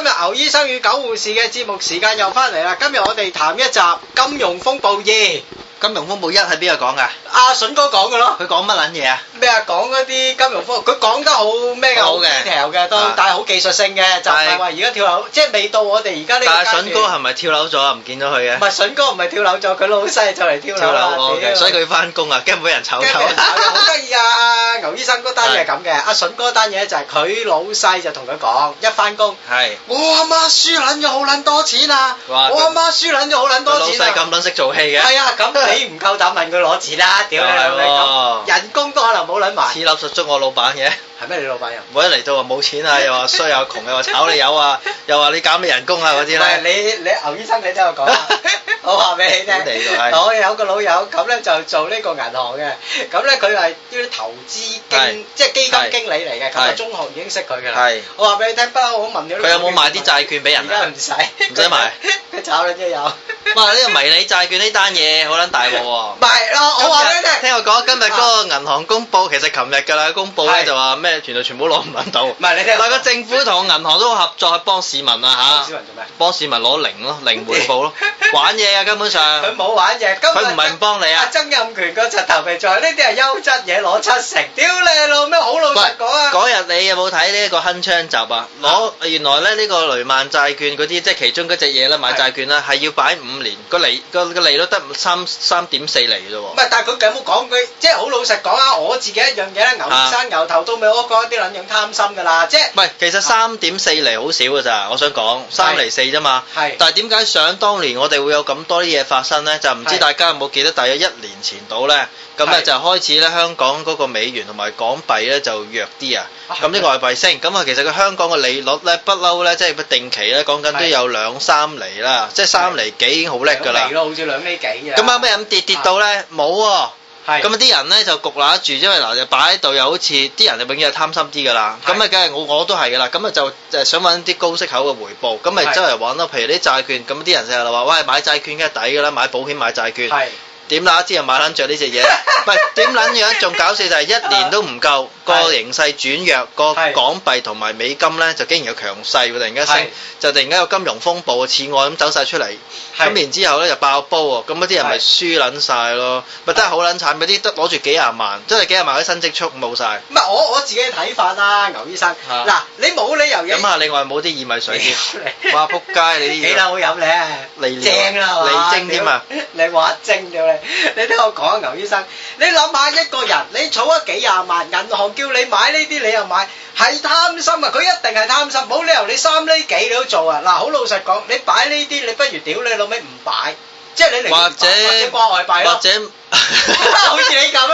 今日牛醫生與狗護士嘅節目時間又翻嚟啦。今日我哋談一集《金融風暴2》。 金融風暴1係邊個講噶？ 阿筍哥講嘅咯。 佢講乜撚嘢啊？ 咩啊？講嗰啲金融風，佢講得好咩嘅？好 detail 嘅都，但係好技術性嘅，就唔係話而家跳樓，即係未到我哋而家呢個階段。但係筍哥係咪跳樓咗啊？唔見咗佢嘅。 唔係筍哥唔係跳樓咗，佢老細就嚟跳樓啦。 所以佢翻工啊，驚冇人炒佢。 好得意啊！牛醫生嗰單嘢係咁嘅，阿筍哥單嘢就係佢老細就同佢講，一翻工，我阿媽輸撚咗好撚多錢啊！我阿媽輸撚咗好撚多錢啊！老細咁撚識做戲嘅。係啊，咁你唔夠膽問佢攞錢啦，屌你老味咁，人工都可能冇撚埋。 似垃圾捉我老闆嘅。 係咩？你老闆又？ 我一嚟到話冇錢啊，又話衰又窮，又話炒你魷啊，又話你減你人工啊嗰啲咧。 唔係你牛醫生你聽我講啊，我話俾你聽。我有個老友咁咧就做呢個銀行嘅，咁咧佢係啲投資經即係基金經理嚟嘅，咁啊中學已經識佢㗎啦。我話俾你聽，不嬲我問咗。佢有冇賣啲債券俾人啊？而家唔使。唔使賣。佢炒你啫有。 哇！呢個迷你債券呢單嘢好撚大鑊喎。 唔係咯，我話俾你聽。 聽我講今日嗰個銀行公佈，其實琴日㗎啦，公佈咧就話咩？全部攞唔撚到。唔係你聽。但係個政府同個銀行都合作去幫市民啊嚇。幫市民做咩？幫市民攞零回報咯。玩嘢啊根本上。佢冇玩嘢，佢唔係唔幫你啊。曾蔭權個柒頭皮在呢啲係優質嘢攞7成，屌你老咩好老實講啊！ 嗰日你有冇睇呢一個鏗鏘集啊？原來咧呢個雷曼債券嗰啲即係其中嗰隻嘢啦，買債券啦係要擺5年，個利率得3.4厘啫喎。 唔係，但係佢有冇講佢即係好老實講啊？我自己一樣嘢咧，牛生牛頭到尾我講一啲撚樣貪心㗎啦，即係。唔係，其實 3.4厘好少㗎咋，我想講3厘4啫嘛。係。但係點解想當年我哋會有咁多啲嘢發生咧？就唔知大家有冇記得，大約1年前到咧，咁咧就開始咧香港嗰個美元同埋港幣咧就弱啲啊。咁啲外幣升，咁啊其實個香港嘅利率咧不嬲咧，即係定期咧講緊都有2-3厘啦，即係3厘幾已經好叻㗎啦。 2厘咯，好似2厘幾啊。 咁後尾咁跌到咧冇喎。咁啊啲人咧就焗揦住，因為嗱就擺喺度又好似啲人就永遠係貪心啲㗎啦。咁啊梗係我都係㗎啦。咁啊就想揾啲高息口嘅回報，咁咪周圍揾咯。譬如啲債券，咁啲人成日就話喂買債券梗係抵㗎啦，買保險買債券。點啦？知人買撚著呢隻嘢，唔係點撚樣？仲搞笑就係1年都唔夠，個形勢轉弱，個港幣同埋美金咧就竟然有強勢喎，突然間升，就突然間有金融風暴嘅次按咁走晒出嚟，咁然之後咧就爆煲喎，咁嗰啲人咪輸撚晒咯，咪真係好撚慘，嗰啲得攞住幾廿萬，真係幾廿萬啲新積蓄冇晒。 唔係我自己嘅睇法啦，牛醫生。嗱，你冇理由飲下另外冇啲薏米水添，哇仆街你啲嘢。 幾撚好飲咧？正啦係嘛？ 利精添啊！ 你話精咗你聽我講啊，牛醫生，你諗下一個人，你儲咗幾廿萬，銀行叫你買呢啲，你又買，係貪心啊！佢一定係貪心，冇理由你3厘幾你都做啊！嗱，好老實講，你擺呢啲，你不如屌你老味唔擺，即係你寧願或者掛外幣咯，或者好似你咁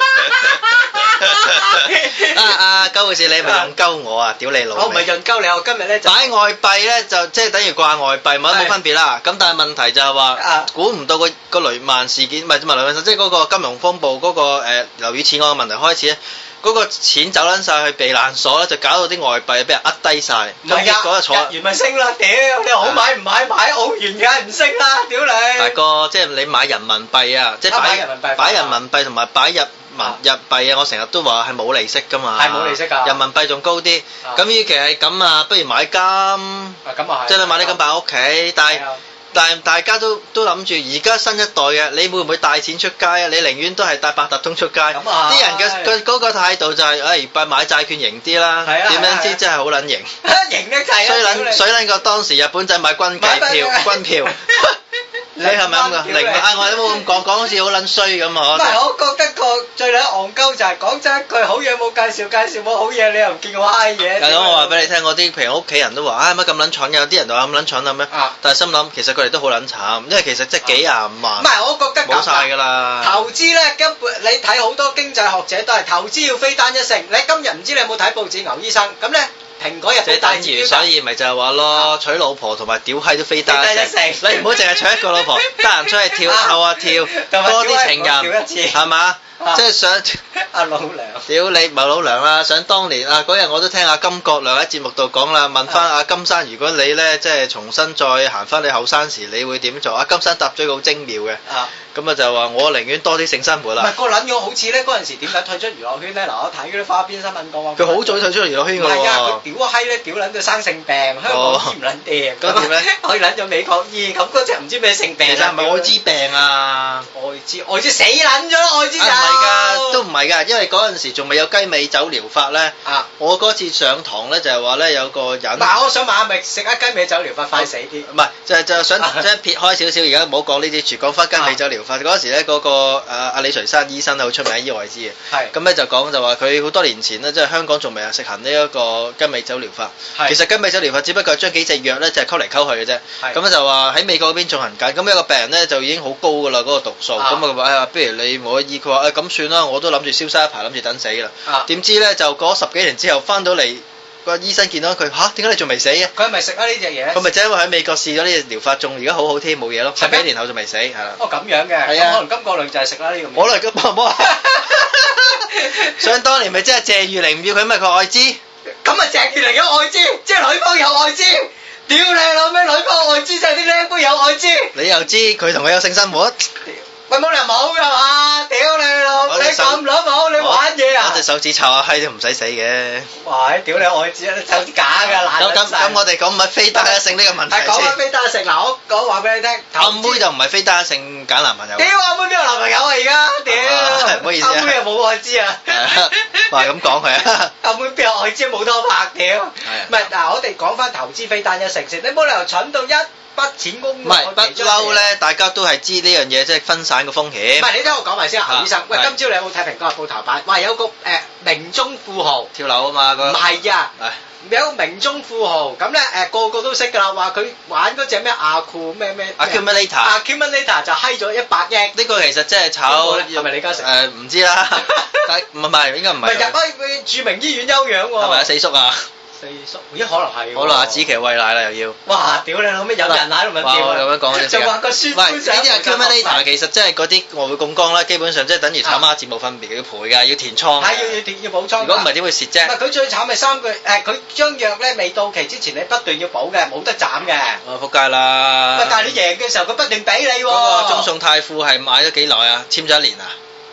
啦。 鳩護士你咪用鳩我啊！屌你老味！ 我唔係用鳩你，我今日咧就擺外幣咧就即係等於掛外幣，冇分別啦。咁但係問題就係話，估唔到個雷曼事件，唔係雷曼，即係嗰個金融風暴嗰個樓宇次按嘅問題開始咧，嗰個錢走撚晒去避難所咧，就搞到啲外幣俾人呃低晒。 唔係啊，日元咪升啦！屌你好買唔買澳元梗係唔升啦！屌你！ 大哥，即係你買人民幣啊，即係擺人民幣同埋擺日幣啊！我成日都話係冇利息噶嘛， 係冇利息㗎。 人民幣仲高啲，咁與其係咁啊，不如買金。咁啊係。即係你買啲金擺屋企，但係大家都諗住而家新一代嘅，你會唔會帶錢出街啊？你寧願都係帶八達通出街。咁啊啲人嘅嗰個態度就係，買債券型啲啦。係啊。點樣知真係好撚型？ 型得滯啊！ 水撚過當時日本仔買軍票。你係咪咁噶？我都冇咁講好似好撚衰咁啊！唔係，我覺得個最撚戇鳩就係講真一句好嘢冇介紹冇好嘢，你又唔見我嗨嘢。係咯，我話俾你聽，我啲譬如屋企人都話乜咁撚蠢嘅，有啲人就話咁撚蠢咁咩？但係心諗其實佢哋都好撚慘，因為其實即係幾廿萬。唔係，我覺得冇晒㗎啦。投資咧根本你睇好多經濟學者都係投資要非單一性。你今日唔知你有冇睇報紙牛醫生咁咧？蘋果日報大字標，所以咪就係話咯，娶老婆同埋屌閪都非單一性。你唔好淨係娶一個老婆，得閒出去跳啊跳，多啲情人係嘛？ 即係想阿老娘， 屌你唔係老娘啦！想當年啊嗰日我都聽阿金國亮喺節目度講啦，問翻阿金生，如果你咧即係重新再行翻你後生時，你會點做？阿金生答咗個好精妙嘅。咁啊就話我寧願多啲性生活啦。 唔係個撚樣好似咧嗰陣時點解退出娛樂圈咧？嗱我睇嗰啲花邊新聞講話， 佢好早退出娛樂圈㗎喎。 唔係啊，佢屌閪咧，屌撚到生性病，香港醫唔撚掂。咁點咧？去撚咗美國醫，咁嗰隻唔知咩性病。 其實係咪愛滋病啊？ 愛滋死撚咗咯，愛滋就。唔係㗎，都唔係㗎，因為嗰陣時仲未有雞尾酒療法咧。我嗰次上堂咧就係話咧有個人。 嗱，我想問下，咪食一雞尾酒療法快死啲？ 唔係，就想即係撇開少少，而家唔好講呢啲，住講翻雞尾酒療法。嗰時咧嗰個阿李垂山醫生好出名醫愛滋嘅。係。咁咧就講就話佢好多年前咧，即係香港仲未實行呢一個雞尾酒療法。係。其實雞尾酒療法只不過係將幾隻藥咧就係溝嚟溝去嘅啫。係。咁咧就話喺美國嗰邊進行緊，咁一個病人咧就已經好高㗎啦嗰個毒素，咁啊佢話不如你冇得醫，佢話咁算啦，我都諗住消失一排，諗住等死啦。點知咧就過咗10幾年之後翻到嚟。個醫生見到佢點解你仲未死嘅？佢係咪食啊呢隻嘢？佢咪就因為喺美國試咗呢隻療法，仲而家好好添，冇嘢咯。10幾年後仲未死，係啦。哦咁樣嘅，係啊。可能金國亮就係食啦呢個。可能金國亮。想當年咪即係謝玉玲唔要佢，咪佢愛滋。咁啊謝玉玲有愛滋，即係女方有愛滋。屌你老味，女方愛滋就係啲靚妹有愛滋。你又知佢同佢有性生活？喂冇理由冇㗎嘛！屌你老，你咁老母，你玩嘢啊！我隻手指插下閪都唔使死嘅。哇！屌你愛子啊！你手指假㗎爛撚晒。咁我哋講唔係非單一性呢個問題先。係講緊非單一性嗱，我講話俾你聽。阿妹就唔係非單一性揀男朋友。屌阿妹邊有男朋友啊而家？屌！唔好意思啊。阿妹又冇愛滋啊。話咁講佢啊。阿妹邊有愛滋冇拖拍屌？係。唔係嗱，我哋講翻投資非單一性先，你冇理由蠢到一筆錢公唔係不嬲咧，大家都係知呢樣嘢，即係分散個風險。唔係你聽我講埋先啊，牛醫生。喂，今朝你有冇睇《蘋果日報》頭版？話有個名中富豪跳樓啊嘛，唔係啊，有個名中富豪咁咧個個都識㗎啦，話佢玩嗰隻咩阿庫咩 accumulator 就閪咗100億。呢個其實即係炒係咪李嘉誠？唔知啦，但係唔係應該唔係。唔係入去著名醫院休養喎。係咪啊四叔啊？四叔，咦可能係喎。好啦，阿子琪餵奶啦又要。哇！屌你老味有人奶都唔屌。哇！咁樣講嗰啲。就話個孫。唔係呢啲係 accumulator，其實即係嗰啲外匯槓桿啦，基本上即係等於炒孖展冇分別，要賠㗎，要填倉。係要補倉。如果唔係點會蝕啫？唔係佢最慘係3句佢將藥咧未到期之前你不斷要補嘅，冇得斬嘅。仆街啦。喂，但係你贏嘅時候佢不斷俾你喎。嗰個中信泰富係買咗幾耐啊？簽咗1年啊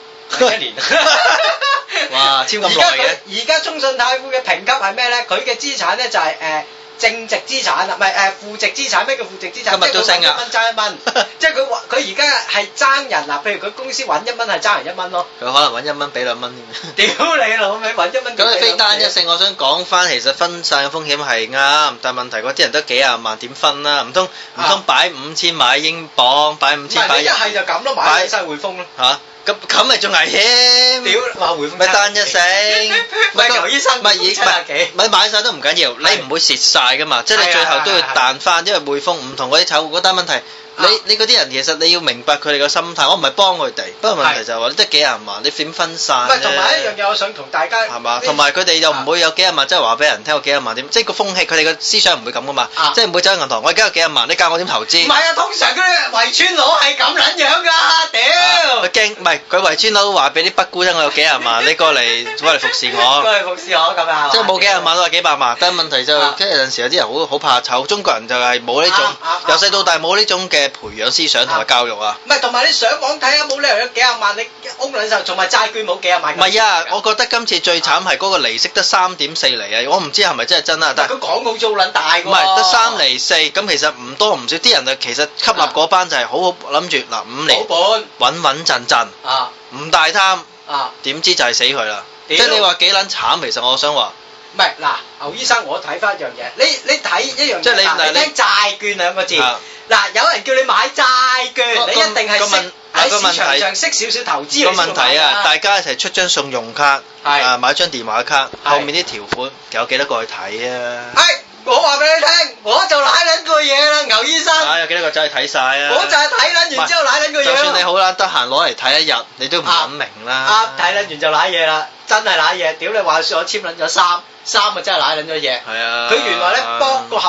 ？1年。哇！簽咁耐嘅。而家中信泰富嘅評級係咩咧？佢嘅資產咧就係正值資產啦，唔係負值資產。咩叫負值資產？今日都升啊！1蚊爭1蚊，即係佢而家係爭人嗱，譬如佢公司揾1蚊係爭人1蚊咯。佢可能揾1蚊俾2蚊添。屌你老味，揾1蚊。咁你非單一性，我想講翻，其實分散嘅風險係啱，但係問題嗰啲人得幾廿萬點分啦？唔通擺5000買英鎊，擺5000擺。唔係你一係就咁咯，買晒匯豐咯。嚇！咁咪仲危險？屌話匯豐咪單一性，咪牛醫生咪買晒都唔緊要，你唔會蝕晒噶嘛，即係你最後都要彈翻，因為匯豐唔同嗰啲炒股嗰單問題。你嗰啲人其實你要明白佢哋個心態，我唔係幫佢哋，不過問題就係話你得幾廿萬，你點分散？唔係同埋一樣嘢，我想同大家係嘛，同埋佢哋又唔會有幾廿萬，即係話俾人聽我幾廿萬點，即係個風氣，佢哋個思想唔會咁噶嘛，即係唔會走去銀行，我而家有幾廿萬，你教我點投資？唔係啊，通常嗰啲圍村佬係咁撚樣㗎，屌！佢驚唔係佢圍村佬話俾啲北姑聽，我有幾廿萬，你過嚟服侍我，過嚟服侍我咁啊！即係冇幾廿萬都話幾百萬，但係問題就即係有陣時有啲人好怕醜，中國人就係冇呢種由細到大冇呢種嘅培養思想同埋教育啊！唔係同埋你上網睇下，冇理由有幾廿萬，你屋兩手，同埋債券冇幾廿萬。唔係啊！我覺得今次最慘係嗰個利息得3.4厘啊！我唔知係咪真係真啊！但係佢講好做撚大㗎喎。唔係得3厘4，咁其實唔多唔少，啲人啊其實吸納嗰班就係好好諗住嗱5年保本穩穩陣陣啊，唔大貪啊，點知就係死佢啦！即係你話幾撚慘，其實我想話。唔係嗱，牛醫生，我睇翻一樣嘢，你睇一樣嘢，即係你聽債券兩個字，嗱有人叫你買債券，你一定係識喺市場上識少少投資。個問題啊，大家一齊出張信用卡，買張電話卡，後面啲條款有幾多個去睇啊？我話俾你聽，我就舐撚個嘢啦，牛醫生。有幾多個仔去睇晒啊？我就係睇撚完之後舐撚個嘢。就算你好撚得閒攞嚟睇一日，你都唔諗明啦。睇撚完就舐嘢啦，真係舐嘢。屌你話説我簽撚咗3啊真係舐撚咗嘢。係啊。佢原來咧幫個合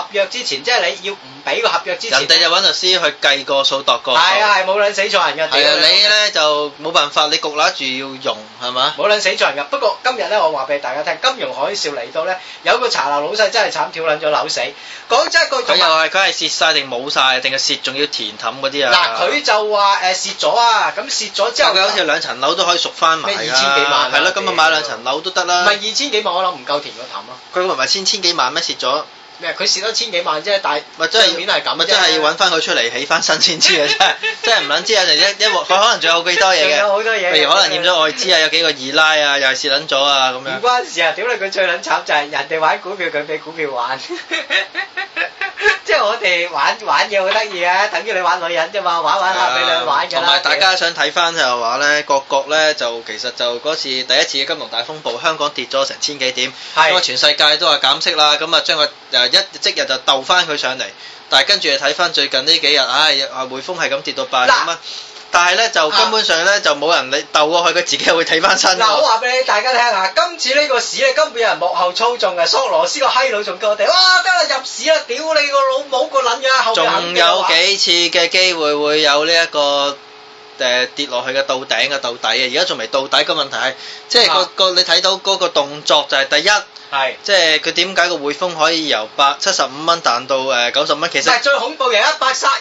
約之前，即係你要唔俾個合約之前， 人哋就揾律師去計個數度個數。 係啊係冇撚死錯人㗎。 係啊，你咧就冇辦法，你焗揦住要用係嘛？ 冇撚死錯人㗎。不過今日咧，我話俾大家聽，金融海嘯嚟到咧，有個茶樓老細真係慘，跳撚咗樓死。講真一句， 佢又係佢係蝕晒定冇晒，定係蝕仲要填氹嗰啲啊？ 嗱，佢就話蝕咗啊，咁蝕咗之後， 佢好似2層樓都可以贖翻埋㗎。 咩2000幾萬？ 係咯，咁啊買2層樓都得啦。 唔係2000幾萬，我諗唔夠填個氹咯。 佢唔係千幾萬咩？蝕咗。 咩？佢蝕咗1000幾萬啫，但係帳面係咁啫。 咪真係要揾翻佢出嚟起翻新先知啊！真係唔撚知啊！一鑊佢可能仲有幾多嘢嘅， 仲有好多嘢。 譬如可能驗咗外資啊，有幾個二奶啊，又係蝕撚咗啊咁樣。 唔關事啊！屌你，佢最撚慘就係人哋玩股票，佢俾股票玩。即係我哋玩嘢好得意啊，等於你玩女人啫嘛，玩下俾你玩㗎啦。 同埋大家想睇翻就係話咧，各國咧就其實就嗰次第一次嘅金融大風暴，香港跌咗成1000幾點，因為全世界都話減息啦，咁啊將佢即日就鬥翻佢上嚟，但係跟住睇翻最近呢幾日，匯豐係咁跌到80蚊。但係咧就根本上咧就冇人你鬥過去，佢自己會睇翻身。 嗱，我話俾你大家聽下，今次呢個市咧根本有人幕後操縱嘅，索羅斯個閪佬仲叫我哋，哇得啦入市啦，屌你個老母個撚樣後邊仲有幾次嘅機會有呢一個跌落去嘅到頂嘅到底嘅，而家仲未到底。個問題係即係個你睇到嗰個動作就係第一。係，即係佢點解個匯豐可以由75蚊彈到90蚊？其實唔係最恐怖，由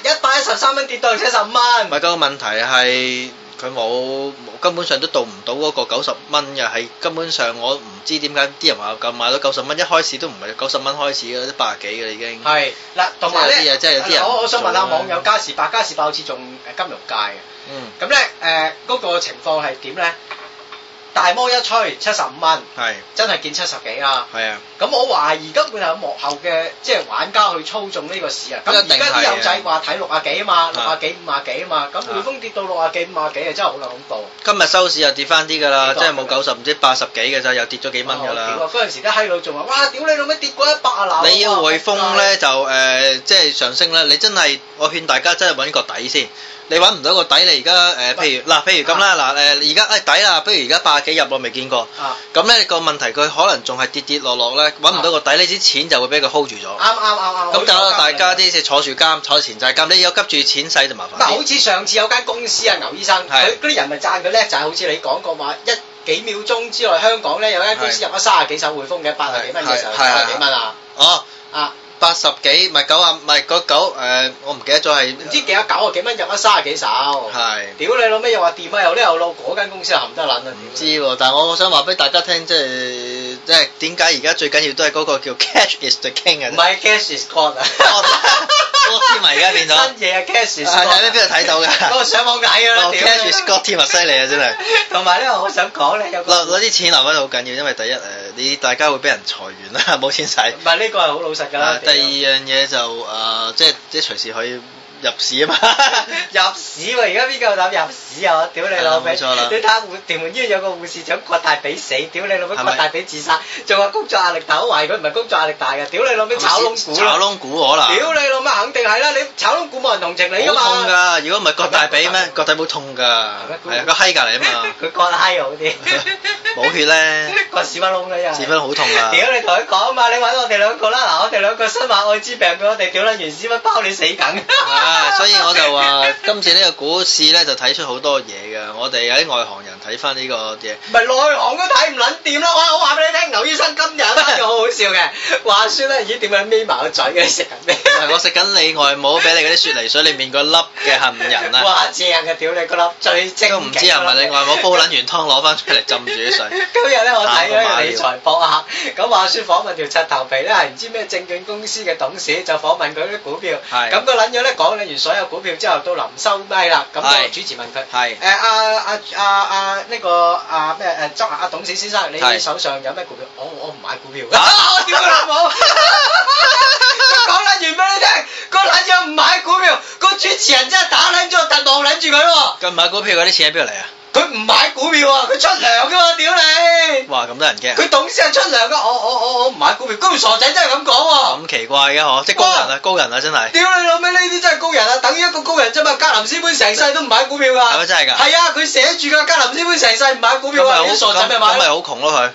113蚊跌到75蚊。 唔係，個問題係佢冇根本上都到唔到嗰個90蚊嘅，係根本上我唔知點解啲人話夠買到90蚊，一開始都唔係90蚊開始嘅，都80幾嘅已經。係嗱，同埋咧，即係有啲人我想問下網友嘉士伯好似仲金融界嘅，咁咧嗰個情況係點咧？大摩一吹75蚊，係真係見70幾啊！係啊，咁我懷疑根本係有幕後嘅即係玩家去操縱呢個市啊！咁而家啲友仔話睇60幾啊嘛，60幾50幾啊嘛，咁匯豐跌到60幾50幾啊，真係好撚恐怖！ 今日收市又跌翻啲㗎啦，即係冇90唔知80幾嘅咋，又跌咗幾蚊㗎啦！ 嗰陣時啲閪佬仲話：哇！屌你老味跌過100啊！ 你要匯豐咧就即係上升咧，你真係我勸大家真係揾個底先。你揾唔到個底，你而家譬如咁啦，而家底啦，不如而家80幾入我未見過，咁咧個問題佢可能仲係跌落咧，揾唔到個底，你啲錢就會俾佢 hold 住咗。啱。咁就大家啲坐住監，坐前債監，你有急住錢使就麻煩。好似上次有間公司啊，牛醫生，佢嗰啲人咪讚佢叻，就係好似你講過話幾秒鐘之內香港咧有間公司入咗30幾手匯豐嘅80幾蚊嘅時候，90幾蚊啊。80幾咪90唔係我唔記得咗係唔知幾多90幾蚊入咗30幾手，係屌你老味又話掂啊又呢又路嗰間公司又含得撚啊！唔知喎，但係我想話俾大家聽，即係點解而家最緊要都係嗰個叫 cash is the king 啊！唔係 cash is god 啊！god 添啊而家變咗新嘢啊 cash is god 喺邊度睇到㗎？嗰個上網睇㗎啦！cash is god 添啊犀利啊真係！同埋咧我想講咧有攞啲錢留翻好緊要，因為第一你大家會俾人裁員啦，冇錢使。唔係呢個係好老實㗎啦。第二樣嘢就即係隨時可以入市啊嘛，入市喎！而家邊個膽入市啊？屌你老味！你睇下屯門醫院有個護士長割大髀死，屌你老味割大髀自殺，仲話工作壓力大，我懷疑佢唔係工作壓力大嘅，屌你老味炒窿股，炒窿股可能，屌你老味肯定係啦！你炒窿股冇人同情你㗎嘛，好痛㗎！如果唔係割大髀咩？割大髀痛㗎，係個閪隔離啊嘛，佢割閪好啲，冇血咧，割屎忽窿咧又，屎忽好痛㗎！屌你同佢講啊嘛，你揾我哋兩個啦，嗱我哋兩個身患愛滋病俾我哋屌撚完屎忽包你死梗。所以我就話今次呢個股市咧就睇出好多嘢㗎，我哋有啲外行人睇翻呢個嘢，唔係內行都睇唔撚掂啦！我話俾你聽，牛醫生今日一個好好笑嘅話説咧，咦點解眯埋個嘴嘅？你食緊咩？我食緊你外母俾你嗰啲雪梨水裏面個粒嘅杏仁啊！哇正嘅，屌你個粒最精，都唔知係咪你外母煲撚完湯攞翻出嚟浸住啲水。今日咧我睇咗個理財博客，咁話説訪問條柒頭皮咧係唔知咩證券公司嘅董事，就訪問佢啲股票，咁個撚樣咧講完所有股票之後到臨收咪啦，咁個主持問佢：係呢個咩董事先生，你手上有咩股票？我唔買股票。我屌佢老母！講撚完俾你聽，個撚樣唔買股票，個主持人真係打撚咗，但望撚住佢喎。佢唔買股票嗰啲錢喺邊度嚟啊？佢唔買股票啊，佢出糧㗎嘛，屌你！哇，咁多人驚！佢董事係出糧㗎，我唔買股票，嗰條傻仔真係咁講喎。咁奇怪嘅嗬，即係高人啊，真係！屌你老味，呢啲真係高人啊，等於一個高人啫嘛。格林斯潘成世都唔買股票㗎。係咪真係㗎？係啊，佢寫住㗎，格林斯潘成世唔買股票啊，啲傻仔咪買。咁咪好窮咯佢。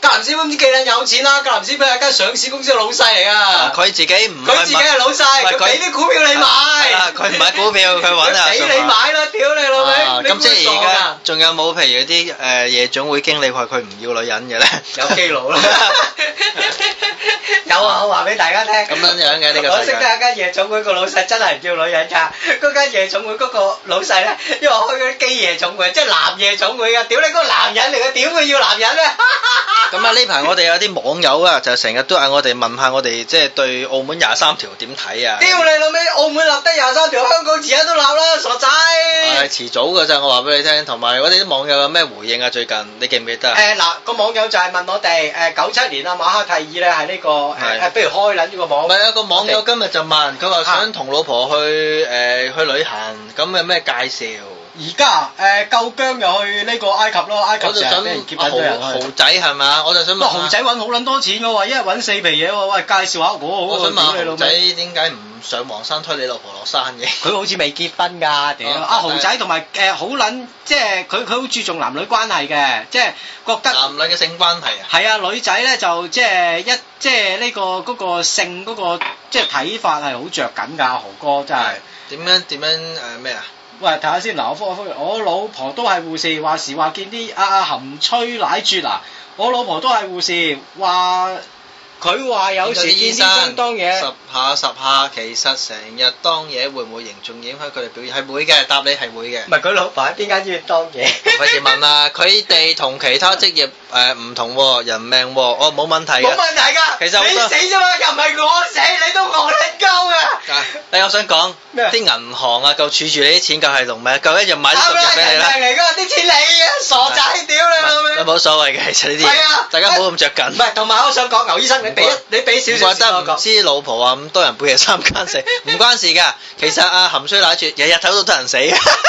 格林斯潘唔知幾撚有錢啦，格林斯潘係間上市公司嘅老細嚟啊！ 佢自己係老細，佢俾啲股票你買。 佢唔買股票，佢揾啊。 俾你買啦，屌你老味！ 咁即係而家仲有冇譬如啲夜總會經理話佢唔要女人嘅咧？ 有基佬啦。有啊，我話俾大家聽。咁樣嘅呢個世界。 我識得一間夜總會個老細真係唔要女人㗎，嗰間夜總會嗰個老細咧，因為我開嗰啲基夜總會，即係男夜總會㗎，屌你嗰個男人嚟嘅，點會要男人咧？ 咁啊呢排我哋有啲網友啊，就成日都嗌我哋問下我哋即係對澳門23條點睇啊？ 屌你老味，澳門立得23條，香港遲下都立啦，傻仔！ 係遲早㗎咋，我話俾你聽。同埋我哋啲網友有咩回應啊？最近你記唔記得啊？ 嗱個網友就係問我哋97年啊馬哈蒂爾咧係呢個不如開撚呢個網。 唔係啊，個網友今日就問佢話想同老婆去旅行，咁有咩介紹？ 而家夠姜又去呢個埃及咯，埃及成日俾人劫緊咗人去。 豪仔係嘛？我就想問。 豪仔揾好撚多錢嘅喎，一日揾4皮嘢喎，喂介紹下我想問豪仔點解唔上黃山推你老婆落山嘅？ 佢好似未結婚㗎，屌！豪仔同埋好撚，即係佢好注重男女關係嘅，即係覺得。 男女嘅性關係啊？ 係啊，女仔咧就即係呢個嗰個性嗰個即係睇法係好着緊㗎，豪哥真係。 點樣咩啊？ 喂，睇下先嗱，我老婆都係護士，話時話見啲含吹奶啜啊！我老婆都係護士，話佢話有時見醫生當嘢十下，其實成日當嘢會唔會嚴重影響佢哋表現？係會嘅，答你係會嘅。唔係佢老婆喺邊間醫院當嘢？ 費事問啦，佢哋同其他職業唔同喎，人命喎，我冇問題嘅。 冇問題㗎，其實你死啫嘛，又唔係我死，你都我嚟鳩㗎。 我想講啲銀行啊，夠儲住你啲錢夠係龍咩？夠一樣買啲毒藥俾你啦。 嚟㗎，啲錢你啊，傻仔，屌你老味！ 冇所謂嘅，其實呢啲嘢，大家唔好咁着緊。唔係，同埋我想講，牛醫生，你俾少少。 怪得唔知老婆話咁多人半夜3更死，唔關事㗎。其實含衰奶啜，日日都得人死。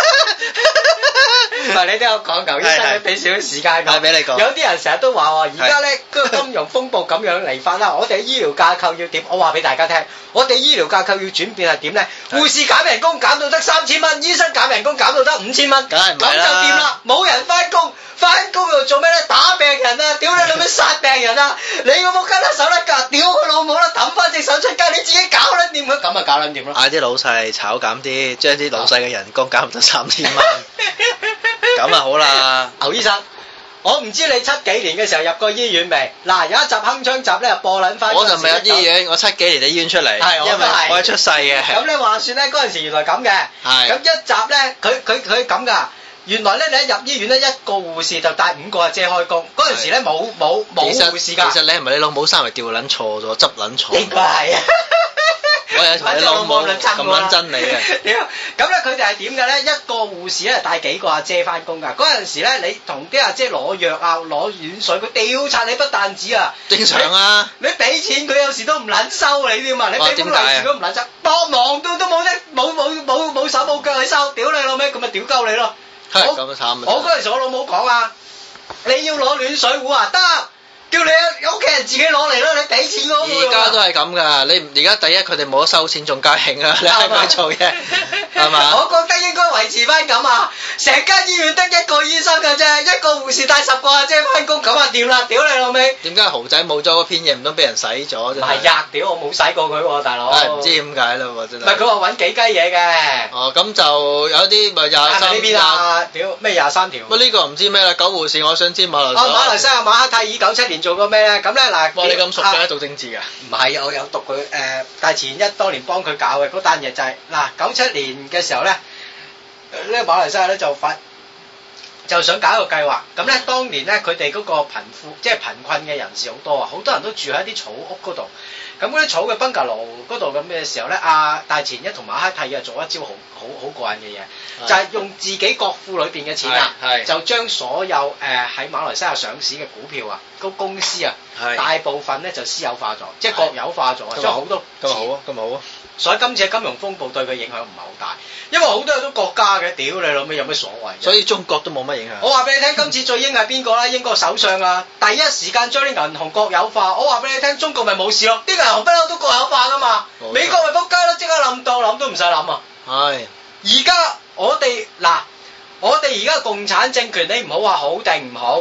唔係你都有講，牛醫生，你俾少少時間講。 俾你講。 有啲人成日都話喎，而家咧個金融風暴咁樣嚟法啦，我哋醫療架構要點？我話俾大家聽，我哋醫療架構要轉變係點咧？護士減人工減到得3000蚊，醫生減人工減到得5000蚊， 梗係唔係啦？ 咁就掂啦，冇人翻工。翻工又做咩咧？打病人啊！屌你老味殺病人啊！你個仆街甩手甩腳，屌佢老母啦！抌翻隻手出街，你自己搞撚掂佢，咁咪搞撚掂咯！ 嗌啲老細炒減啲，將啲老細嘅人工減到3000蚊，咁啊好啦。 牛醫生，我唔知你70幾年嘅時候入過醫院未？嗱，有一集鏗鏘集咧播撚翻。 我就未有醫院，我70幾年嘅醫院出嚟，因為我係出世嘅。 咁你話算咧，嗰陣時原來咁嘅。係。咁一集咧，佢咁㗎。原來咧，你一入醫院咧，一個護士就帶5個阿姐開工。嗰陣時咧冇護士㗎。 其實你係咪你老母生嚟調撚錯咗，執撚錯？ 應該係啊。 我有同你老母咁撚真你嘅。 屌！咁咧佢哋係點嘅咧？一個護士咧帶幾個阿姐翻工㗎。嗰陣時咧，你同啲阿姐攞藥啊、攞軟水，佢調查你不但止啊。 正常啊。 你俾錢佢有時都唔撚收你添嘛？你俾封利是都唔撚收，幫忙都冇得冇手冇腳去收，屌你老味，咁咪屌鳩你咯！ 咁慘啊！ 我嗰陣時我老母講啊，你要攞暖水壺啊，得，叫你屋企人自己攞嚟啦，你俾錢我。 而家都係咁噶，你而家第一佢哋冇得收錢，仲加興啊！你係咪做嘢？係嘛？ 我覺得應該維持翻咁啊！成間醫院得一個醫生㗎啫，一個護士帶10個阿姐翻工，咁啊掂啦！屌你老味！ 點解豪仔冇咗嗰篇嘢唔通俾人洗咗？唔係呀！屌我冇洗過佢喎，大佬。 唔知點解啦喎，真係。唔係佢話揾幾雞嘢嘅。 哦，咁就有啲咪23。 呢邊啊？屌咩23條？ 喂，呢個唔知咩啦，狗護士，我想知馬來西亞。 馬來西亞馬哈蒂爾97年做過咩咧？咁咧嗱。 哇！你咁熟嘅做政治㗎？ 唔係啊，我有讀佢大前一當年幫佢搞嘅嗰單嘢就係嗱97年嘅時候咧，呢個馬來西亞咧就想搞一個計劃，咁咧當年咧佢哋嗰個貧富即係貧困嘅人士好多啊，好多人都住喺啲草屋嗰度，咁嗰啲草嘅 bungalow 嗰度咁嘅時候咧，大前一同馬哈蒂啊做一招好過癮嘅嘢，就係用自己國庫裏邊嘅錢啊，就將所有喺馬來西亞上市嘅股票啊，個公司啊，大部分咧就私有化咗，即係國有化咗，將好多咁好啊，咁好啊。 所以今次嘅金融風暴對佢影響唔係好大，因為好多都國家嘅，屌你老味有咩所謂？ 所以中國都冇乜影響。 我話俾你聽，今次最英係邊個啦？英國首相啊，第一時間將啲銀行國有化。我話俾你聽，中國咪冇事咯，啲銀行不嬲都國有化噶嘛。美國咪仆街咯，即刻諗到諗都唔使諗啊。係。而家我哋而家共產政權，你唔好話好定唔好。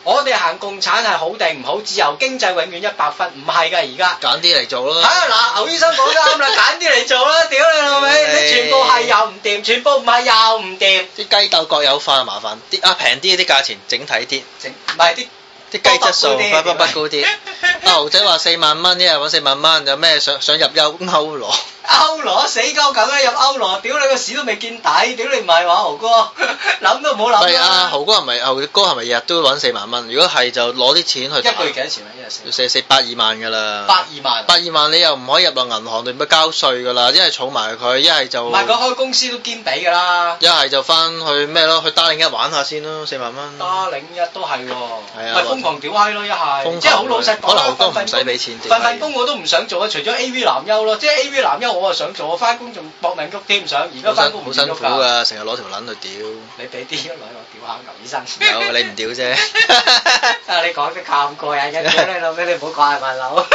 我哋行共產係好定唔好？自由經濟永遠100分，唔係㗎而家。 揀啲嚟做咯。 嗱，牛醫生講得啱啦，揀啲嚟做啦，屌你老味！你全部係又唔掂，全部唔係又唔掂。 啲雞竇國有化麻煩啲平啲啲價錢整體啲， 唔係啲雞質素不高啲。阿豪仔話4萬蚊，一日揾4萬蚊，有咩想入歐羅？ 歐羅死鳩梗啦，入歐羅，屌你個屎都未見底，屌你唔係話豪哥，諗都唔好諗。 唔係啊，豪哥係咪日日都揾4萬蚊？如果係就攞啲錢去。 一個月幾多錢啊？一日 4百2萬㗎啦。 82萬你又唔可以入落銀行度咪交稅㗎啦？一係儲埋佢，一係就。唔係佢開公司都兼俾㗎啦。 一係就翻去咩咯？去Darling1玩下先咯，4萬蚊。 Darling1都係喎。係啊。 咪瘋狂屌閪咯？一係。即係好老實講。 可能豪哥唔使俾錢。 份工我都唔想做啊，除咗 AV 男優咯，即係 AV 男優我啊想做，我翻工仲搏命喐添，想而家翻工唔喐㗎。好辛苦㗎， 成日攞條撚去屌。 你俾啲女我屌下牛醫生。 有你唔屌啫。 你講得咁過癮嘅，屌你老味，你唔好講係問樓。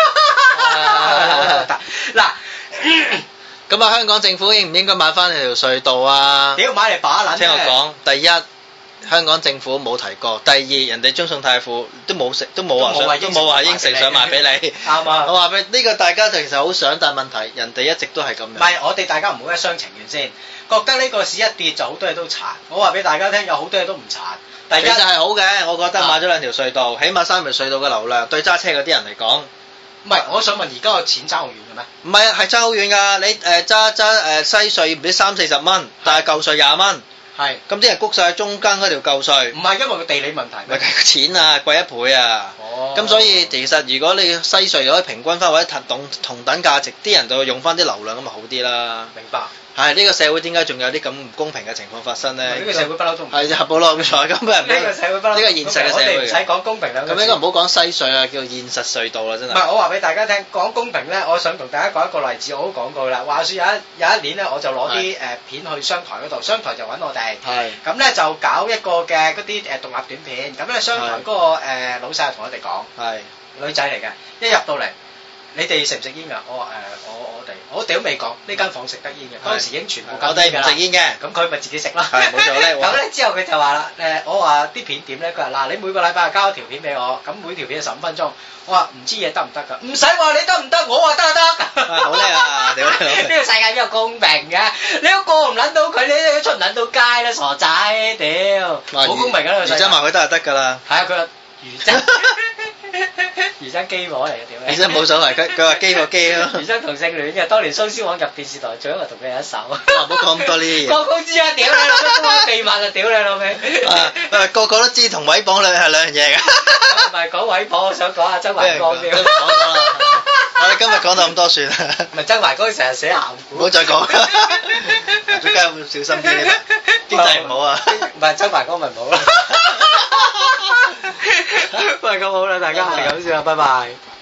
嗱， 咁啊，香港政府應唔應該買翻你條隧道啊？ 屌買嚟把撚。聽我講，第一，香港政府冇提過；第二，人哋中信泰富都冇話應承想賣俾你。 啱啊！ 我話俾你，呢個大家就其實好想，但係問題人哋一直都係咁樣。 唔係，我哋大家唔好一廂情願先，覺得呢個市一跌就好多嘢都殘。我話俾大家聽，有好多嘢都唔殘。 其實係好嘅，我覺得買咗2條隧道，起碼3條隧道嘅流量對揸車嗰啲人嚟講。 唔係，我想問而家個錢爭好遠嘅咩？ 唔係，係爭好遠㗎。你揸西隧唔知30-40蚊，但係舊隧20蚊。係。咁啲人谷晒中間嗰條舊隧。唔係因為個地理問題。唔係錢啊，貴1倍啊。哦。咁所以其實如果你西隧可以平均翻或者同等價值，啲人就用翻啲流量咁咪好啲啦。明白。係呢個社會點解仲有啲咁唔公平嘅情況發生咧？呢個社會不嬲都唔係合保浪財咁啊！呢個社會不嬲，呢個現實嘅社會。我哋唔使講公平兩個字。咁應該唔好講西隧啊，叫現實隧道啦，真係。唔係，我話俾大家聽，講公平咧，我想同大家講一個例子，我都講過啦。話説有一年咧，我就攞啲片去商台嗰度，商台就揾我哋。係。咁咧就搞一個嘅嗰啲獨立短片，咁咧商台嗰個老細就同我哋講，係女仔嚟嘅，一入到嚟。你哋食唔食煙㗎？我哋都未講，呢間房食得煙嘅，當時已經全部搞低唔食煙嘅，咁佢咪自己食啦。係冇錯咧。咁咧之後佢就話啦，我話啲片點咧？佢話嗱，你每個禮拜交一條片俾我，咁每條片15分鐘。我話唔知嘢得唔得㗎？唔使話你得唔得，我話得就得。好叻啊！屌你！呢個世界邊有公平嘅？你都過唔撚到佢，你都出唔撚到街啦，傻仔！屌，好公平㗎呢個世界。余真話佢得就得㗎啦。係啊，佢話余真。余生基模嚟嘅，屌你！余生冇所謂，佢話基個基咯。余生同性戀嘅，當年蘇絲黃入電視台，最後同佢有一手。唔好講咁多呢啲嘢。個個知啊，屌你老味，都秘密啊，屌你老味。個個都知同毀謗係兩樣嘢㗎。唔係講毀謗，我想講下周懷光啲。我哋今日講到咁多算啦。唔係周懷光成日寫鹹古。唔好再講。出街要小心啲，經濟唔好啊。唔係周懷光咪唔好啦。喂，咁好啦，大家係咁先啦，拜拜。